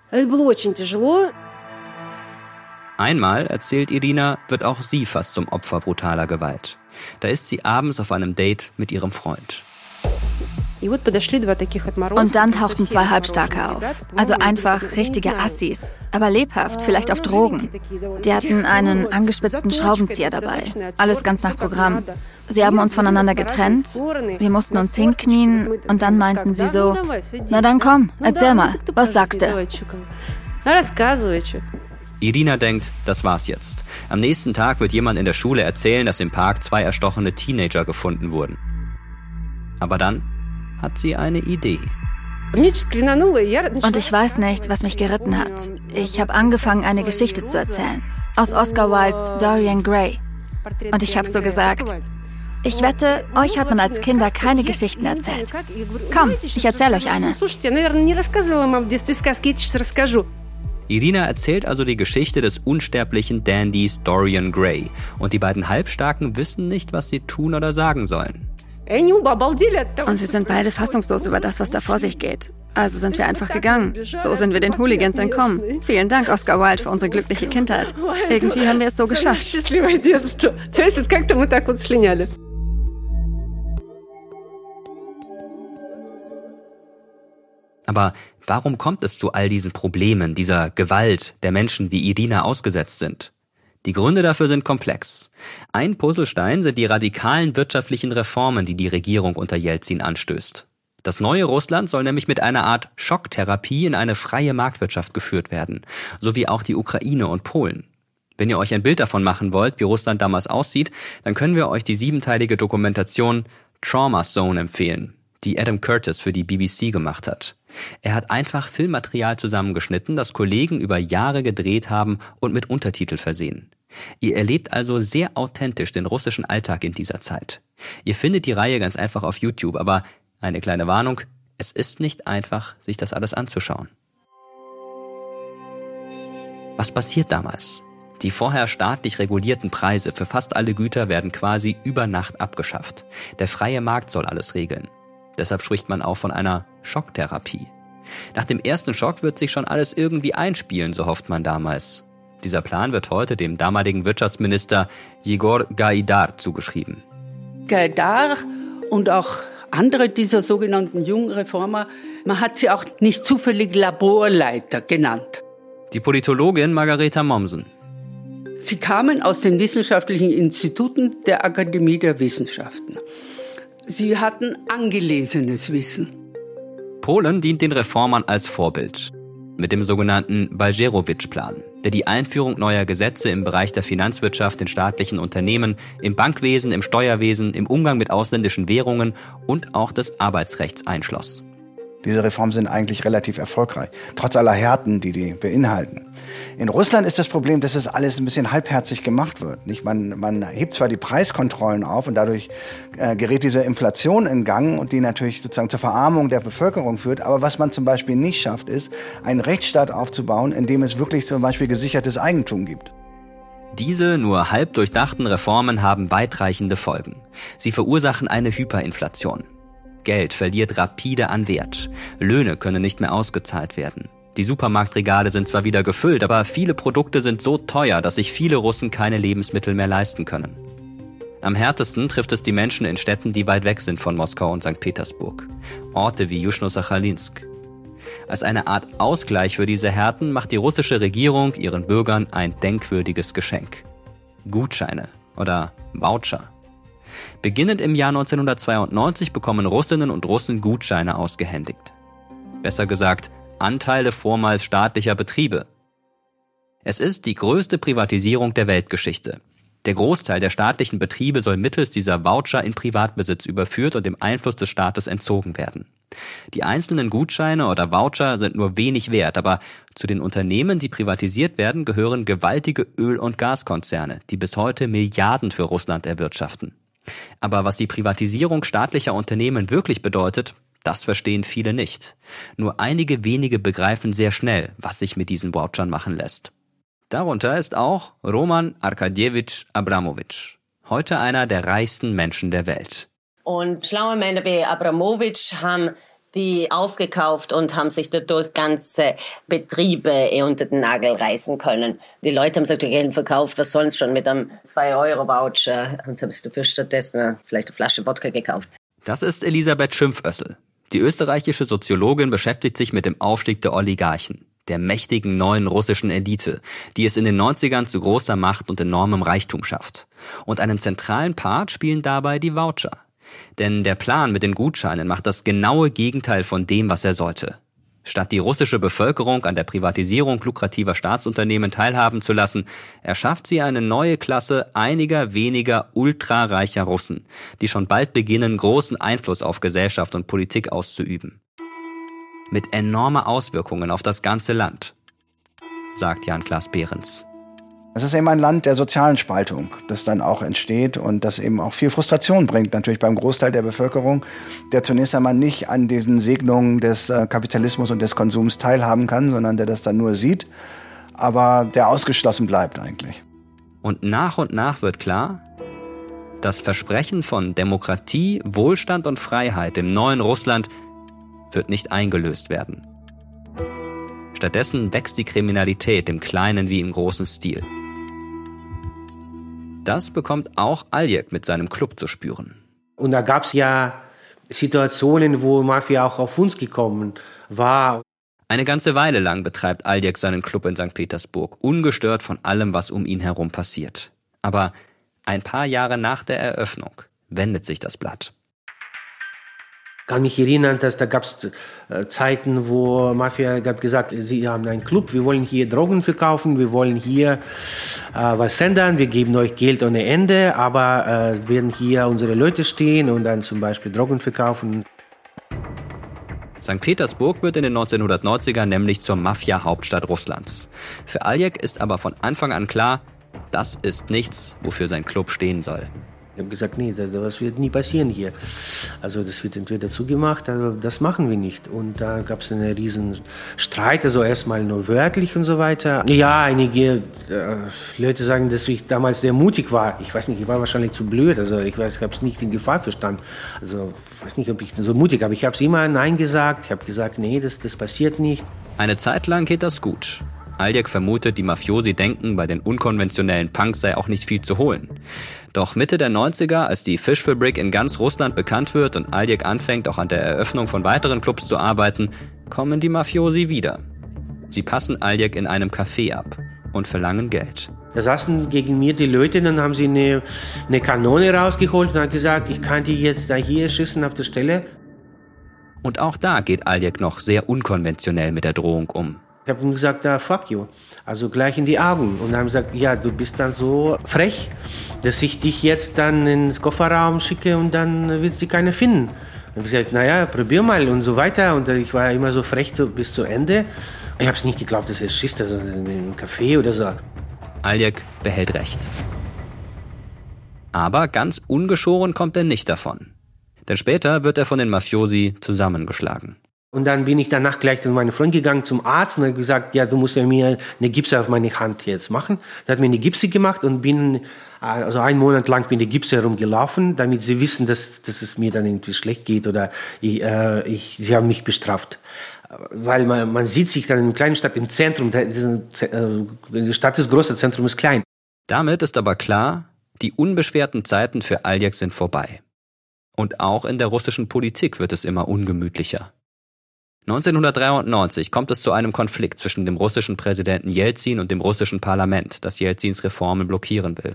Einmal, erzählt Irina, wird auch sie fast zum Opfer brutaler Gewalt. Da ist sie abends auf einem Date mit ihrem Freund. Und dann tauchten 2 Halbstarke auf. Also einfach richtige Assis, aber lebhaft, vielleicht auf Drogen. Die hatten einen angespitzten Schraubenzieher dabei. Alles ganz nach Programm. Sie haben uns voneinander getrennt, wir mussten uns hinknien und dann meinten sie so, na dann komm, erzähl mal, was sagst du? Irina denkt, das war's jetzt. Am nächsten Tag wird jemand in der Schule erzählen, dass im Park 2 erstochene Teenager gefunden wurden. Aber dann hat sie eine Idee. Und ich weiß nicht, was mich geritten hat. Ich habe angefangen, eine Geschichte zu erzählen. Aus Oscar Wildes Dorian Gray. Und ich habe so gesagt, ich wette, euch hat man als Kinder keine Geschichten erzählt. Komm, ich erzähle euch eine. Irina erzählt also die Geschichte des unsterblichen Dandys Dorian Gray. Und die beiden Halbstarken wissen nicht, was sie tun oder sagen sollen. Und sie sind beide fassungslos über das, was da vor sich geht. Also sind wir einfach gegangen. So sind wir den Hooligans entkommen. Vielen Dank, Oscar Wilde, für unsere glückliche Kindheit. Irgendwie haben wir es so geschafft. Aber warum kommt es zu all diesen Problemen, dieser Gewalt der Menschen, die Irina ausgesetzt sind? Die Gründe dafür sind komplex. Ein Puzzlestein sind die radikalen wirtschaftlichen Reformen, die die Regierung unter Jelzin anstößt. Das neue Russland soll nämlich mit einer Art Schocktherapie in eine freie Marktwirtschaft geführt werden, sowie auch die Ukraine und Polen. Wenn ihr euch ein Bild davon machen wollt, wie Russland damals aussieht, dann können wir euch die 7-teilige Dokumentation Trauma Zone empfehlen, die Adam Curtis für die BBC gemacht hat. Er hat einfach Filmmaterial zusammengeschnitten, das Kollegen über Jahre gedreht haben und mit Untertitel versehen. Ihr erlebt also sehr authentisch den russischen Alltag in dieser Zeit. Ihr findet die Reihe ganz einfach auf YouTube, aber eine kleine Warnung, es ist nicht einfach, sich das alles anzuschauen. Was passiert damals? Die vorher staatlich regulierten Preise für fast alle Güter werden quasi über Nacht abgeschafft. Der freie Markt soll alles regeln. Deshalb spricht man auch von einer Schocktherapie. Nach dem ersten Schock wird sich schon alles irgendwie einspielen, so hofft man damals. Dieser Plan wird heute dem damaligen Wirtschaftsminister Jegor Gaidar zugeschrieben. Gaidar und auch andere dieser sogenannten jungen Reformer, man hat sie auch nicht zufällig Laborleiter genannt. Die Politologin Margareta Mommsen. Sie kamen aus den wissenschaftlichen Instituten der Akademie der Wissenschaften. Sie hatten angelesenes Wissen. Polen dient den Reformern als Vorbild. Mit dem sogenannten Balcerowicz-Plan, der die Einführung neuer Gesetze im Bereich der Finanzwirtschaft in staatlichen Unternehmen, im Bankwesen, im Steuerwesen, im Umgang mit ausländischen Währungen und auch des Arbeitsrechts einschloss. Diese Reformen sind eigentlich relativ erfolgreich, trotz aller Härten, die beinhalten. In Russland ist das Problem, dass es alles ein bisschen halbherzig gemacht wird. Nicht? Man hebt zwar die Preiskontrollen auf und dadurch gerät diese Inflation in Gang und die natürlich sozusagen zur Verarmung der Bevölkerung führt. Aber was man zum Beispiel nicht schafft, ist, einen Rechtsstaat aufzubauen, in dem es wirklich zum Beispiel gesichertes Eigentum gibt. Diese nur halb durchdachten Reformen haben weitreichende Folgen. Sie verursachen eine Hyperinflation. Geld verliert rapide an Wert. Löhne können nicht mehr ausgezahlt werden. Die Supermarktregale sind zwar wieder gefüllt, aber viele Produkte sind so teuer, dass sich viele Russen keine Lebensmittel mehr leisten können. Am härtesten trifft es die Menschen in Städten, die weit weg sind von Moskau und St. Petersburg. Orte wie Juschno-Sachalinsk. Als eine Art Ausgleich für diese Härten macht die russische Regierung ihren Bürgern ein denkwürdiges Geschenk. Gutscheine oder Voucher. Beginnend im Jahr 1992 bekommen Russinnen und Russen Gutscheine ausgehändigt. Besser gesagt, Anteile vormals staatlicher Betriebe. Es ist die größte Privatisierung der Weltgeschichte. Der Großteil der staatlichen Betriebe soll mittels dieser Voucher in Privatbesitz überführt und dem Einfluss des Staates entzogen werden. Die einzelnen Gutscheine oder Voucher sind nur wenig wert, aber zu den Unternehmen, die privatisiert werden, gehören gewaltige Öl- und Gaskonzerne, die bis heute Milliarden für Russland erwirtschaften. Aber was die Privatisierung staatlicher Unternehmen wirklich bedeutet, das verstehen viele nicht. Nur einige wenige begreifen sehr schnell, was sich mit diesen Vouchern machen lässt. Darunter ist auch Roman Arkadjewitsch Abramowitsch, heute einer der reichsten Menschen der Welt. Und schlaue Männer wie Abramowitsch haben die aufgekauft und haben sich dadurch ganze Betriebe unter den Nagel reißen können. Die Leute haben sich Geld verkauft, was sollen sie schon mit einem 2-Euro-Voucher? Und sie haben sich dafür stattdessen vielleicht eine Flasche Wodka gekauft. Das ist Elisabeth Schimpfössl. Die österreichische Soziologin beschäftigt sich mit dem Aufstieg der Oligarchen, der mächtigen neuen russischen Elite, die es in den 90ern zu großer Macht und enormem Reichtum schafft. Und einen zentralen Part spielen dabei die Voucher. Denn der Plan mit den Gutscheinen macht das genaue Gegenteil von dem, was er sollte. Statt die russische Bevölkerung an der Privatisierung lukrativer Staatsunternehmen teilhaben zu lassen, erschafft sie eine neue Klasse einiger weniger ultrareicher Russen, die schon bald beginnen, großen Einfluss auf Gesellschaft und Politik auszuüben. Mit enormer Auswirkungen auf das ganze Land, sagt Jan-Klaas Behrens. Es ist eben ein Land der sozialen Spaltung, das dann auch entsteht und das eben auch viel Frustration bringt, natürlich beim Großteil der Bevölkerung, der zunächst einmal nicht an diesen Segnungen des Kapitalismus und des Konsums teilhaben kann, sondern der das dann nur sieht, aber der ausgeschlossen bleibt eigentlich. Und nach wird klar, das Versprechen von Demokratie, Wohlstand und Freiheit im neuen Russland wird nicht eingelöst werden. Stattdessen wächst die Kriminalität im kleinen wie im großen Stil. Das bekommt auch Aljek mit seinem Club zu spüren. Und da gab es ja Situationen, wo Mafia auch auf uns gekommen war. Eine ganze Weile lang betreibt Aljek seinen Club in St. Petersburg, ungestört von allem, was um ihn herum passiert. Aber ein paar Jahre nach der Eröffnung wendet sich das Blatt. Ich kann mich erinnern, dass da gab es Zeiten, wo Mafia hat gesagt, sie haben einen Club, wir wollen hier Drogen verkaufen, wir wollen hier was ändern, wir geben euch Geld ohne Ende, aber werden hier unsere Leute stehen und dann zum Beispiel Drogen verkaufen. St. Petersburg wird in den 1990ern nämlich zur Mafia-Hauptstadt Russlands. Für Aljek ist aber von Anfang an klar, das ist nichts, wofür sein Club stehen soll. Ich habe gesagt, nee, das wird nie passieren hier. Also das wird entweder zugemacht, also das machen wir nicht. Und da gab es einen riesen Streit, also erstmal nur wörtlich und so weiter. Ja, einige Leute sagen, dass ich damals sehr mutig war. Ich weiß nicht, ich war wahrscheinlich zu blöd. Also ich habe es nicht in Gefahr verstanden. Also ich weiß nicht, ob ich so mutig, aber ich habe es immer Nein gesagt. Ich habe gesagt, nee, das passiert nicht. Eine Zeit lang geht das gut. Aljek vermutet, die Mafiosi denken, bei den unkonventionellen Punks sei auch nicht viel zu holen. Doch Mitte der 90er, als die Fischfabrik in ganz Russland bekannt wird und Aljek anfängt, auch an der Eröffnung von weiteren Clubs zu arbeiten, kommen die Mafiosi wieder. Sie passen Aljek in einem Café ab und verlangen Geld. Da saßen gegen mir die Leute, dann haben sie eine Kanone rausgeholt und haben gesagt, ich kann die jetzt da hier schießen auf der Stelle. Und auch da geht Aljek noch sehr unkonventionell mit der Drohung um. Ich habe ihm gesagt, fuck you, also gleich in die Augen. Und haben gesagt, ja, du bist dann so frech, dass ich dich jetzt dann ins Kofferraum schicke und dann wird dich keiner finden. Ich habe gesagt, naja, probier mal und so weiter. Und ich war immer so frech bis zu Ende. Ich habe es nicht geglaubt, dass er schießt, also in einem Café oder so. Aljek behält recht. Aber ganz ungeschoren kommt er nicht davon. Denn später wird er von den Mafiosi zusammengeschlagen. Und dann bin ich danach gleich zu meinem Freund gegangen, zum Arzt, und habe gesagt, ja, du musst ja mir eine Gipse auf meine Hand jetzt machen. Er hat mir eine Gipse gemacht und also 1 Monat lang bin ich Gipse herumgelaufen, damit sie wissen, dass es mir dann irgendwie schlecht geht oder sie haben mich bestraft. Weil man sieht sich dann in einer kleinen Stadt im Zentrum, die Stadt ist groß, das Zentrum ist klein. Damit ist aber klar, die unbeschwerten Zeiten für Aljek sind vorbei. Und auch in der russischen Politik wird es immer ungemütlicher. 1993 kommt es zu einem Konflikt zwischen dem russischen Präsidenten Jelzin und dem russischen Parlament, das Jelzins Reformen blockieren will.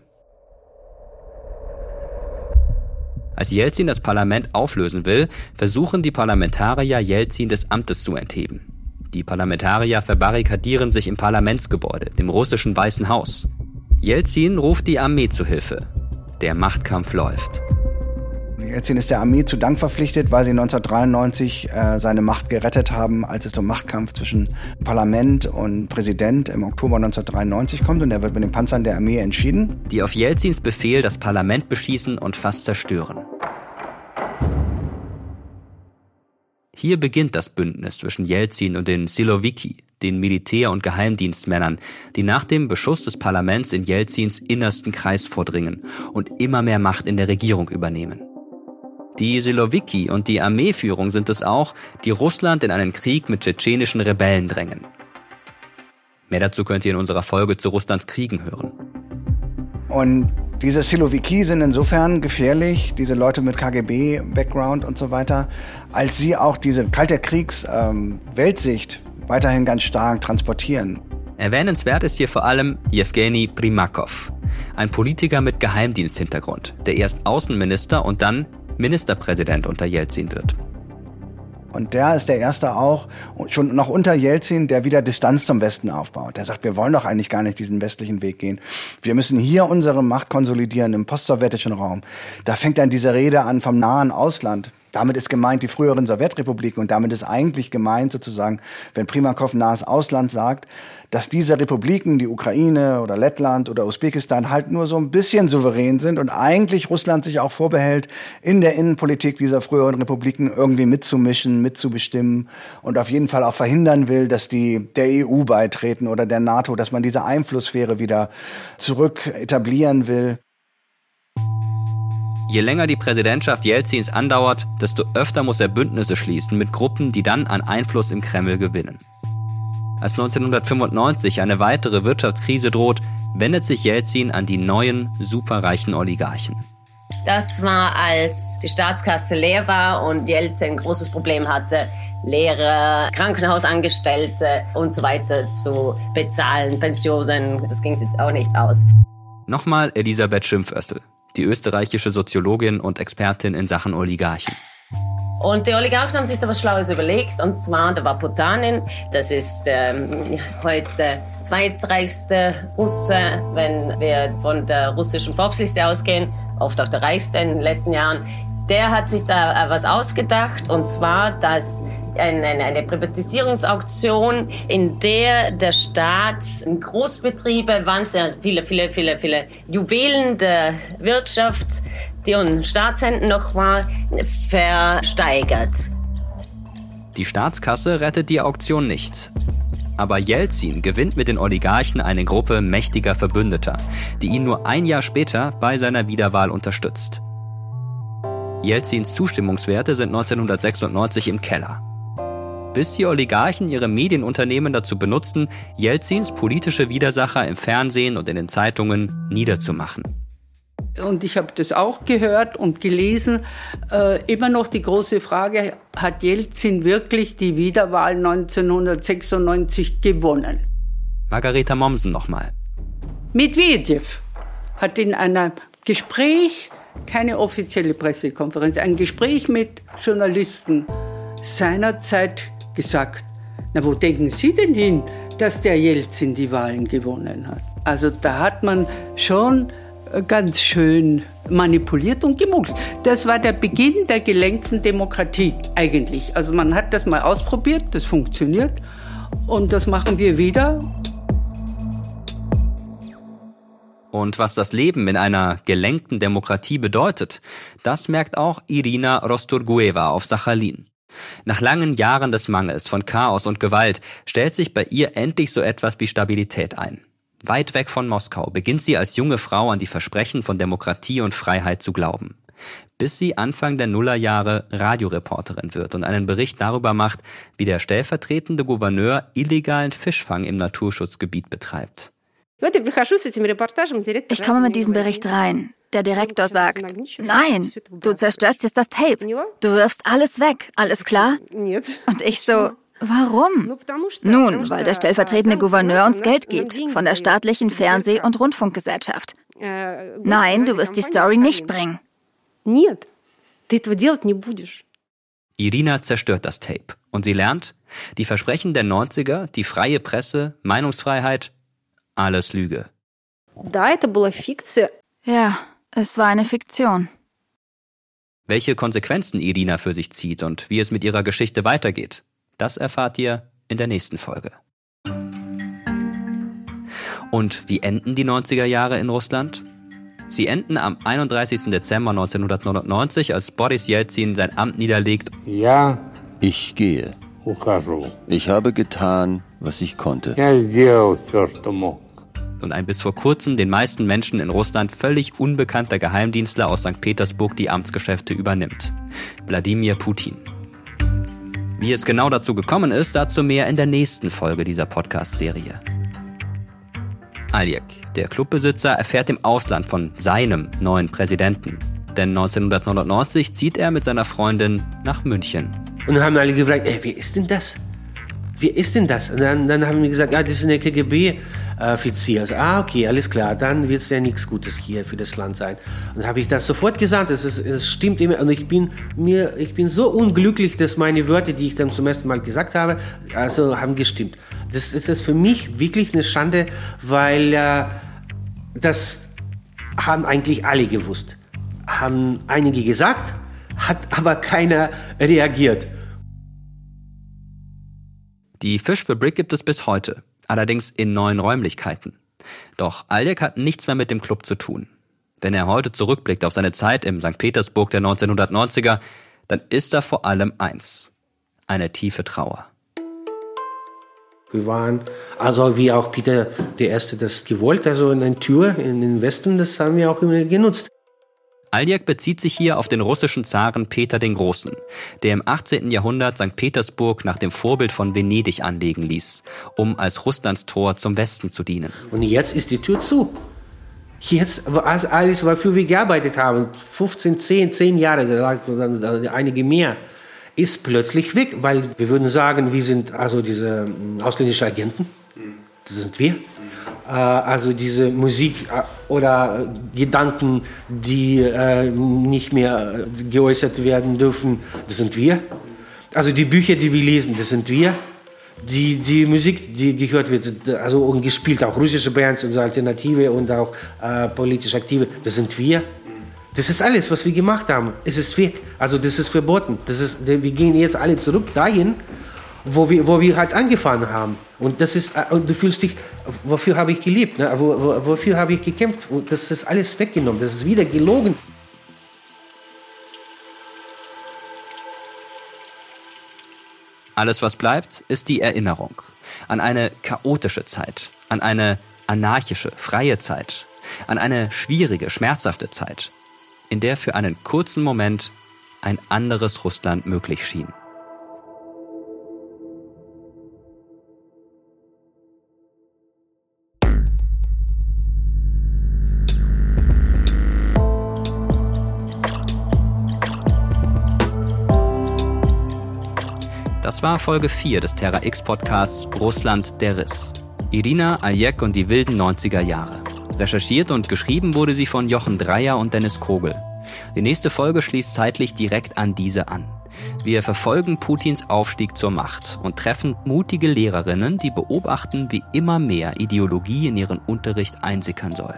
Als Jelzin das Parlament auflösen will, versuchen die Parlamentarier, Jelzin des Amtes zu entheben. Die Parlamentarier verbarrikadieren sich im Parlamentsgebäude, dem russischen Weißen Haus. Jelzin ruft die Armee zu Hilfe. Der Machtkampf läuft. Jelzin ist der Armee zu Dank verpflichtet, weil sie 1993 seine Macht gerettet haben, als es zum Machtkampf zwischen Parlament und Präsident im Oktober 1993 kommt. Und er wird mit den Panzern der Armee entschieden. Die auf Jelzins Befehl das Parlament beschießen und fast zerstören. Hier beginnt das Bündnis zwischen Jelzin und den Siloviki, den Militär- und Geheimdienstmännern, die nach dem Beschuss des Parlaments in Jelzins innersten Kreis vordringen und immer mehr Macht in der Regierung übernehmen. Die Siloviki und die Armeeführung sind es auch, die Russland in einen Krieg mit tschetschenischen Rebellen drängen. Mehr dazu könnt ihr in unserer Folge zu Russlands Kriegen hören. Und diese Siloviki sind insofern gefährlich, diese Leute mit KGB-Background und so weiter, als sie auch diese Kalter Kriegs-Weltsicht weiterhin ganz stark transportieren. Erwähnenswert ist hier vor allem Jewgeni Primakov, ein Politiker mit Geheimdiensthintergrund, der erst Außenminister und dann Ministerpräsident unter Jelzin wird. Und der ist der Erste auch, schon noch unter Jelzin, der wieder Distanz zum Westen aufbaut. Der sagt, wir wollen doch eigentlich gar nicht diesen westlichen Weg gehen. Wir müssen hier unsere Macht konsolidieren im postsowjetischen Raum. Da fängt dann diese Rede an vom nahen Ausland. Damit ist gemeint die früheren Sowjetrepubliken und damit ist eigentlich gemeint sozusagen, wenn Primakov nahes Ausland sagt, dass diese Republiken, die Ukraine oder Lettland oder Usbekistan, halt nur so ein bisschen souverän sind und eigentlich Russland sich auch vorbehält, in der Innenpolitik dieser früheren Republiken irgendwie mitzumischen, mitzubestimmen und auf jeden Fall auch verhindern will, dass die der EU beitreten oder der NATO, dass man diese Einflusssphäre wieder zurück etablieren will. Je länger die Präsidentschaft Jelzins andauert, desto öfter muss er Bündnisse schließen mit Gruppen, die dann an Einfluss im Kreml gewinnen. Als 1995 eine weitere Wirtschaftskrise droht, wendet sich Jelzin an die neuen, superreichen Oligarchen. Das war, als die Staatskasse leer war und Jelzin ein großes Problem hatte, Lehrer, Krankenhausangestellte und so weiter zu bezahlen, Pensionen, das ging sich auch nicht aus. Nochmal Elisabeth Schimpfössl, die österreichische Soziologin und Expertin in Sachen Oligarchen. Und die Oligarchen haben sich da was Schlaues überlegt, und zwar, da war Potanin, das ist heute zweitreichste Russe, wenn wir von der russischen Forbes-Liste ausgehen, oft auch der reichste in den letzten Jahren. Der hat sich da was ausgedacht, und zwar, dass eine Privatisierungsauktion, in der der Staat Großbetriebe, waren sehr viele Juwelen der Wirtschaft, die in Staatshänden noch war, versteigert. Die Staatskasse rettet die Auktion nicht. Aber Jelzin gewinnt mit den Oligarchen eine Gruppe mächtiger Verbündeter, die ihn nur ein Jahr später bei seiner Wiederwahl unterstützt. Jelzins Zustimmungswerte sind 1996 im Keller. Bis die Oligarchen ihre Medienunternehmen dazu benutzten, Jelzins politische Widersacher im Fernsehen und in den Zeitungen niederzumachen. Und ich habe das auch gehört und gelesen. Immer noch die große Frage, hat Jelzin wirklich die Wiederwahl 1996 gewonnen? Margareta Mommsen nochmal. Medvedev hat in einem Gespräch, keine offizielle Pressekonferenz, ein Gespräch mit Journalisten seinerzeit gesagt, na, wo denken Sie denn hin, dass der Jelzin die Wahlen gewonnen hat? Also da hat man schon ganz schön manipuliert und gemunkelt. Das war der Beginn der gelenkten Demokratie eigentlich. Also man hat das mal ausprobiert, das funktioniert und das machen wir wieder. Und was das Leben in einer gelenkten Demokratie bedeutet, das merkt auch Irina Rosturgueva auf Sachalin. Nach langen Jahren des Mangels, von Chaos und Gewalt, stellt sich bei ihr endlich so etwas wie Stabilität ein. Weit weg von Moskau beginnt sie als junge Frau an die Versprechen von Demokratie und Freiheit zu glauben. Bis sie Anfang der Nullerjahre Radioreporterin wird und einen Bericht darüber macht, wie der stellvertretende Gouverneur illegalen Fischfang im Naturschutzgebiet betreibt. Ich komme mit diesem Bericht rein. Der Direktor sagt, nein, du zerstörst jetzt das Tape. Du wirfst alles weg, alles klar? Und ich so, warum? Nun, weil der stellvertretende Gouverneur uns Geld gibt, von der staatlichen Fernseh- und Rundfunkgesellschaft. Nein, du wirst die Story nicht bringen. Irina zerstört das Tape und sie lernt, die Versprechen der 90er, die freie Presse, Meinungsfreiheit, alles Lüge. Ja, es war eine Fiktion. Welche Konsequenzen Irina für sich zieht und wie es mit ihrer Geschichte weitergeht, das erfahrt ihr in der nächsten Folge. Und wie enden die 90er Jahre in Russland? Sie enden am 31. Dezember 1999, als Boris Jelzin sein Amt niederlegt. Ja, ich gehe. Ich habe getan, was ich konnte. Und ein bis vor kurzem den meisten Menschen in Russland völlig unbekannter Geheimdienstler aus St. Petersburg die Amtsgeschäfte übernimmt. Wladimir Putin. Wie es genau dazu gekommen ist, dazu mehr in der nächsten Folge dieser Podcast-Serie. Aljek, der Clubbesitzer, erfährt im Ausland von seinem neuen Präsidenten. Denn 1999 zieht er mit seiner Freundin nach München. Und dann haben alle gefragt, wer ist denn das? Wer ist denn das? Und dann haben wir gesagt, das ist eine KGB-Offizier. Also, okay, alles klar, dann wird es ja nichts Gutes hier für das Land sein. Und dann habe ich das sofort gesagt, es stimmt immer. Und ich bin so unglücklich, dass meine Wörter, die ich dann zum ersten Mal gesagt habe, also haben gestimmt. Das ist für mich wirklich eine Schande, weil das haben eigentlich alle gewusst. Haben einige gesagt, hat aber keiner reagiert. Die Fischfabrik gibt es bis heute, allerdings in neuen Räumlichkeiten. Doch Aljek hat nichts mehr mit dem Club zu tun. Wenn er heute zurückblickt auf seine Zeit im St. Petersburg der 1990er, dann ist da vor allem eins: eine tiefe Trauer. Wir waren, also wie auch Peter I. das gewollt, also eine Tür in den Westen, das haben wir auch immer genutzt. Aljek bezieht sich hier auf den russischen Zaren Peter den Großen, der im 18. Jahrhundert St. Petersburg nach dem Vorbild von Venedig anlegen ließ, um als Russlands Tor zum Westen zu dienen. Und jetzt ist die Tür zu. Jetzt, alles, wofür wir gearbeitet haben, 10 Jahre, einige mehr, ist plötzlich weg, weil wir würden sagen, wir sind also diese ausländischen Agenten, das sind wir. Also diese Musik oder Gedanken, die nicht mehr geäußert werden dürfen, das sind wir. Also die Bücher, die wir lesen, das sind wir. Die Musik, die gehört wird, also und gespielt, auch russische Bands und so Alternative und auch politisch Aktive, das sind wir. Das ist alles, was wir gemacht haben. Es ist weg. Also das ist verboten. Wir gehen jetzt alle zurück dahin, wo wir halt angefangen haben. Und das ist, du fühlst dich, wofür habe ich gelebt? Ne? Wofür habe ich gekämpft? Und das ist alles weggenommen. Das ist wieder gelogen. Alles, was bleibt, ist die Erinnerung an eine chaotische Zeit, an eine anarchische, freie Zeit, an eine schwierige, schmerzhafte Zeit, in der für einen kurzen Moment ein anderes Russland möglich schien. Das war Folge 4 des Terra X Podcasts Russland, der Riss. Irina Aljek und die wilden 90er Jahre. Recherchiert und geschrieben wurde sie von Jochen Dreyer und Dennis Kogel. Die nächste Folge schließt zeitlich direkt an diese an. Wir verfolgen Putins Aufstieg zur Macht und treffen mutige Lehrerinnen, die beobachten, wie immer mehr Ideologie in ihren Unterricht einsickern soll.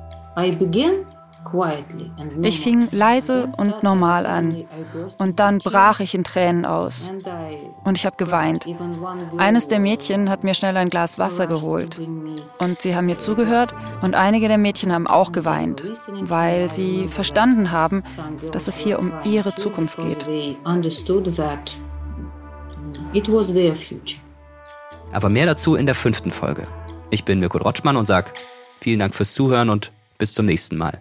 Ich fing leise und normal an und dann brach ich in Tränen aus und ich habe geweint. Eines der Mädchen hat mir schnell ein Glas Wasser geholt und sie haben mir zugehört und einige der Mädchen haben auch geweint, weil sie verstanden haben, dass es hier um ihre Zukunft geht. Aber mehr dazu in der 5. Folge. Ich bin Mirko Drotschmann und sage vielen Dank fürs Zuhören und bis zum nächsten Mal.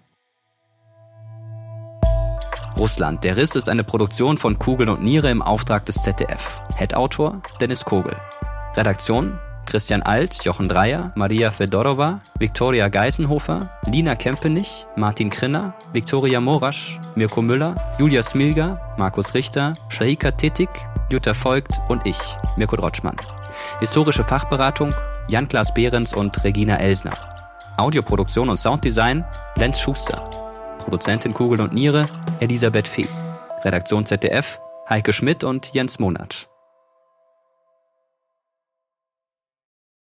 Russland, der Riss ist eine Produktion von Kugel und Niere im Auftrag des ZDF. Head-Autor Dennis Kogel. Redaktion Christian Alt, Jochen Dreyer, Maria Fedorova, Viktoria Geisenhofer, Lina Kempenich, Martin Krinner, Viktoria Morasch, Mirko Müller, Julia Smilga, Markus Richter, Shahika Tetik, Jutta Voigt und ich, Mirko Drotschmann. Historische Fachberatung Jan-Klaas Behrens und Regina Elsner. Audioproduktion und Sounddesign Lenz Schuster. Produzentin Kugel und Niere Elisabeth Fee. Redaktion ZDF Heike Schmidt und Jens Monat.